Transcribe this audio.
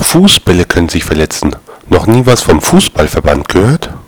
Fußbälle können sich verletzen. Noch nie was vom Fußballverband gehört?